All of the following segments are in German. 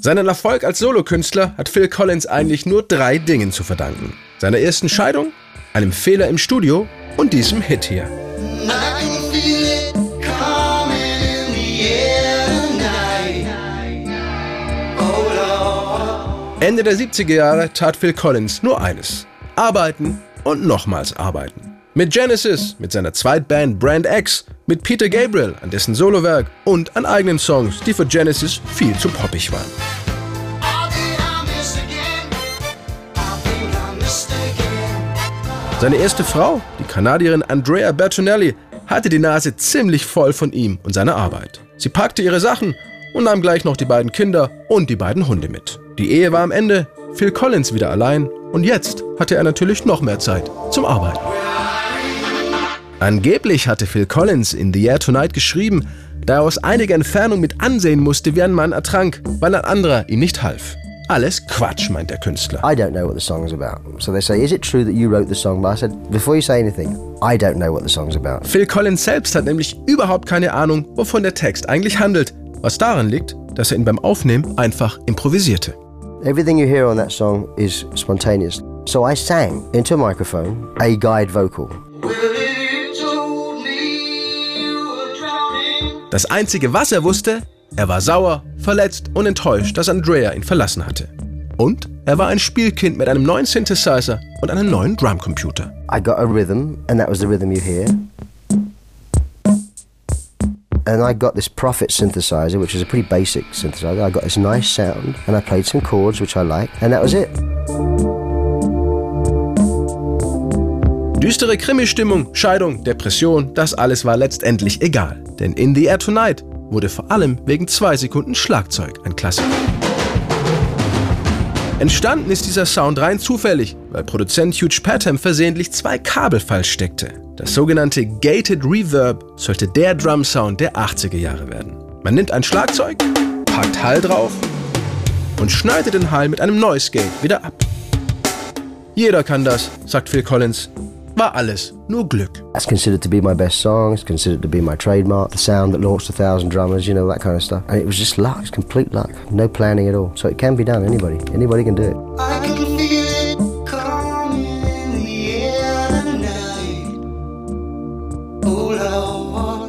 Seinen Erfolg als Solokünstler hat Phil Collins eigentlich nur 3 Dingen zu verdanken. Seiner ersten Scheidung, einem Fehler im Studio und diesem Hit hier. Ende der 70er Jahre tat Phil Collins nur eines: arbeiten und nochmals arbeiten. Mit Genesis, mit seiner Zweitband Brand X, mit Peter Gabriel an dessen Solowerk und an eigenen Songs, die für Genesis viel zu poppig waren. Seine erste Frau, die Kanadierin Andrea Bertonelli, hatte die Nase ziemlich voll von ihm und seiner Arbeit. Sie packte ihre Sachen und nahm gleich noch die beiden Kinder und die beiden Hunde mit. Die Ehe war am Ende, Phil Collins wieder allein und jetzt hatte er natürlich noch mehr Zeit zum Arbeiten. Angeblich hatte Phil Collins in The Year Tonight geschrieben, da er aus einiger Entfernung mit ansehen musste, wie ein Mann ertrank, weil ein anderer ihm nicht half. Alles Quatsch, meint der Künstler. I don't know what the song's about. So they say, is it true that you wrote the song? But I said, before you say anything, I don't know what the song's about. Phil Collins selbst hat nämlich überhaupt keine Ahnung, wovon der Text eigentlich handelt, was daran liegt, dass er ihn beim Aufnehmen einfach improvisierte. Everything you hear on that song is spontaneous. So I sang into a microphone a guide vocal. Das Einzige, was er wusste, er war sauer, verletzt und enttäuscht, dass Andrea ihn verlassen hatte. Und er war ein Spielkind mit einem neuen Synthesizer und einem neuen Drumcomputer. I got a rhythm, and that was the rhythm you hear. And I got this Prophet synthesizer, which is a pretty basic synthesizer. I got this nice sound, and I played some chords, which I liked, and that was it. Düstere Krimi-Stimmung, Scheidung, Depression, das alles war letztendlich egal. Denn In The Year Tonight wurde vor allem wegen 2 Sekunden Schlagzeug ein Klassiker. Entstanden ist dieser Sound rein zufällig, weil Produzent Hugh Padgham versehentlich 2 Kabel falsch steckte. Das sogenannte Gated Reverb sollte der Drum-Sound der 80er Jahre werden. Man nimmt ein Schlagzeug, packt Hall drauf und schneidet den Hall mit einem Noise Gate wieder ab. Jeder kann das, sagt Phil Collins. War alles nur Glück. That's considered to be my best song. It's considered to be my trademark. The sound that launched 1,000 drummers, you know, that kind of stuff. And it was just luck. It's complete luck. No planning at all. So it can be done. Anybody can do it. I can feel it coming in the air tonight. Oh Lord,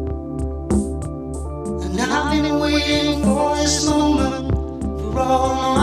and I've been waiting for this moment for all my